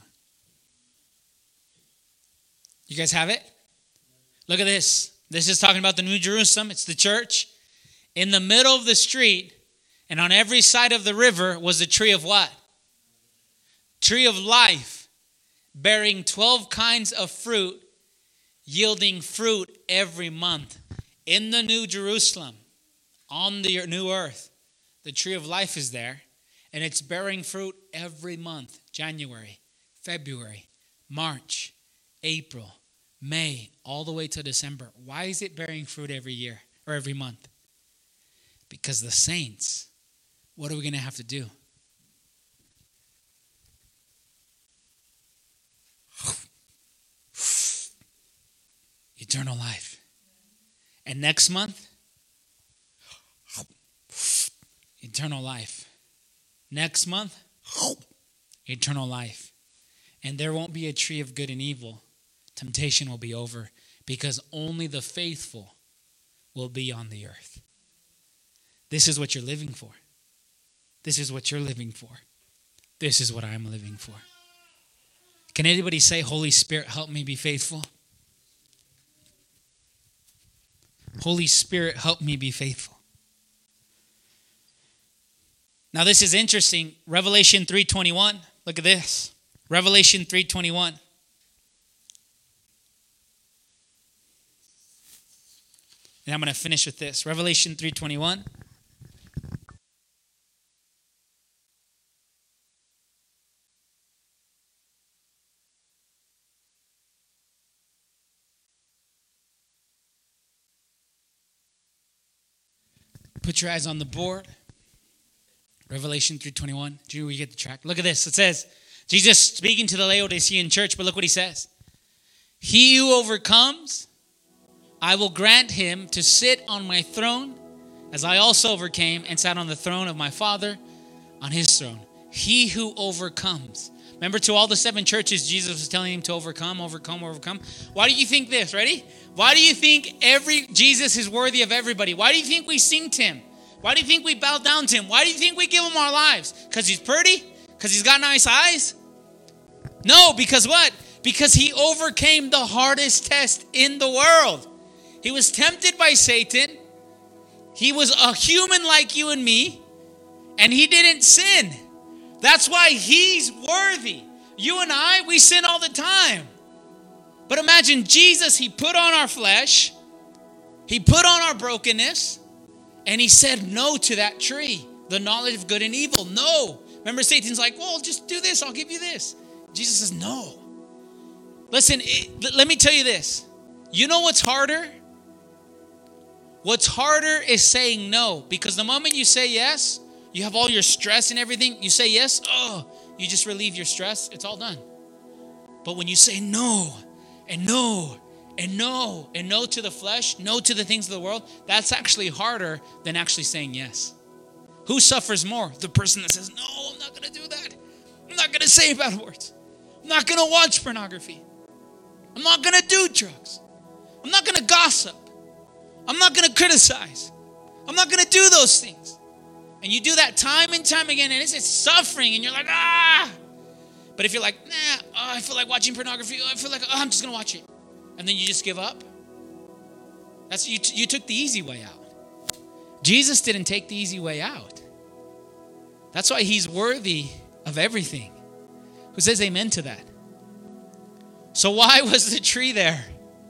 You guys have it? Look at this. This is talking about the New Jerusalem. It's the church. In the middle of the street and on every side of the river was a tree of what? Tree of life, bearing 12 kinds of fruit, yielding fruit every month. In the New Jerusalem, on the new earth, the tree of life is there, and it's bearing fruit every month. January, February, March, April, May, all the way to December. Why is it bearing fruit every year or every month? Because the saints, what are we going to have to do? Eternal life. And next month, eternal life. Next month, eternal life. And there won't be a tree of good and evil. Temptation will be over because only the faithful will be on the earth. This is what you're living for. This is what you're living for. This is what I'm living for. Can anybody say, Holy Spirit, help me be faithful? Holy Spirit, help me be faithful. Now this is interesting. Revelation 3:21. Look at this. Revelation 3:21. And I'm going to finish with this. Revelation 3:21. Put your eyes on the board. Revelation 3:21. Do you get the track? Look at this. It says, Jesus speaking to the Laodicean church, but look what he says. He who overcomes, I will grant him to sit on my throne, as I also overcame and sat on the throne of my Father on his throne. He who overcomes. Remember, to all the 7 churches, Jesus was telling him to overcome, overcome, overcome. Why do you think this? Ready? Why do you think Jesus is worthy of everybody? Why do you think we sing to him? Why do you think we bow down to him? Why do you think we give him our lives? Because he's pretty? Because he's got nice eyes? No, because what? Because he overcame the hardest test in the world. He was tempted by Satan. He was a human like you and me, and he didn't sin. That's why he's worthy. You and I, we sin all the time. But imagine Jesus, he put on our flesh, he put on our brokenness, and he said no to that tree, the knowledge of good and evil. No. Remember, Satan's like, well, just do this, I'll give you this. Jesus says, no. Listen, let me tell you this. You know what's harder? What's harder is saying no. Because the moment you say yes, you have all your stress and everything. You say yes, you just relieve your stress. It's all done. But when you say no, and no, and no, and no to the flesh, no to the things of the world, that's actually harder than actually saying yes. Who suffers more? The person that says, no, I'm not going to do that. I'm not going to say bad words. I'm not going to watch pornography. I'm not going to do drugs. I'm not going to gossip. I'm not going to criticize. I'm not going to do those things. And you do that time and time again, and it's suffering, and you're like, But if you're like, I feel like watching pornography. I feel like, I'm just going to watch it. And then you just give up. That's you took the easy way out. Jesus didn't take the easy way out. That's why he's worthy of everything. Who says amen to that? So why was the tree there?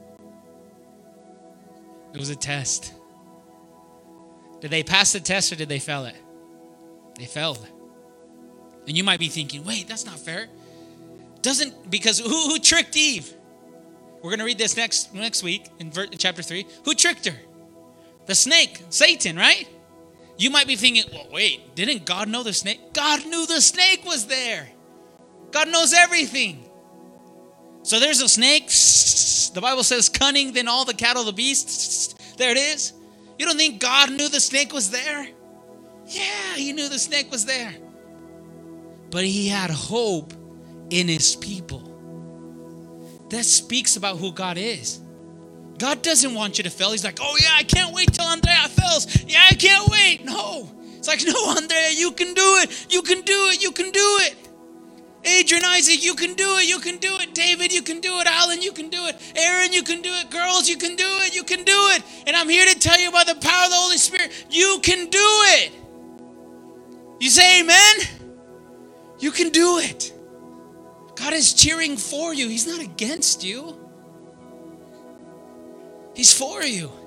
It was a test. Did they pass the test or did they fail it? They failed. And you might be thinking, wait, that's not fair. Because who tricked Eve? We're going to read this next week in chapter 3. Who tricked her? The snake, Satan, right? You might be thinking, well, wait, didn't God know the snake? God knew the snake was there. God knows everything. So there's a snake. The Bible says cunning than all the cattle of the beasts. There it is. You don't think God knew the snake was there? Yeah, he knew the snake was there. But he had hope in his people. That speaks about who God is. God doesn't want you to fail. He's like, oh yeah, I can't wait till Andrea fails. Yeah, I can't wait. No. It's like, no, Andrea, you can do it. You can do it. You can do it. Adrian, Isaac, you can do it. You can do it. David, you can do it. Alan, you can do it. Aaron, you can do it. Girls, you can do it. You can do it. And I'm here to tell you by the power of the Holy Spirit, you can do it. You say amen? You can do it. God is cheering for you. He's not against you. He's for you.